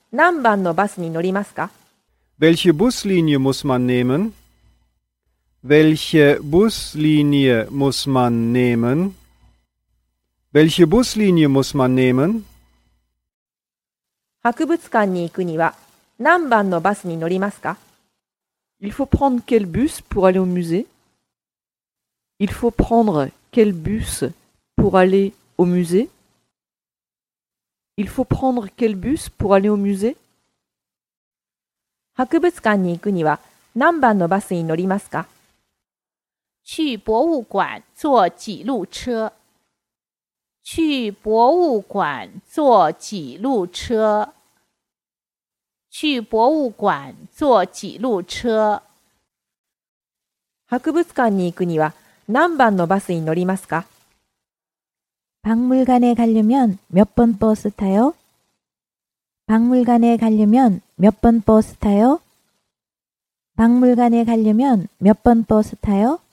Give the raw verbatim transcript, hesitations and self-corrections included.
何番のバスに乗りますか？ Welche Buslinie muss man nehmen? Welche Buslinie muss man nehmen? Welche Buslinie muss man nehmen? 博物館に行くには何番のバスに乗りますか？ Il faut prendre quel bus pour aller au musée? Il faut prendre quel bus pour aller au musée? Il faut prendre quel bus pour aller au musée? 博物館に行くには何番のバスに乗りますか？ 去博物馆坐几路车。去博物馆坐几路车。去博物馆坐几路车。 博物館に行くには何番のバスに乗りますか？ 박물관에 가려면 몇 번 버스 타요? 박물관에 가려면 몇 번 버스 타요? 박물관에 가려면 몇 번 버스 타요?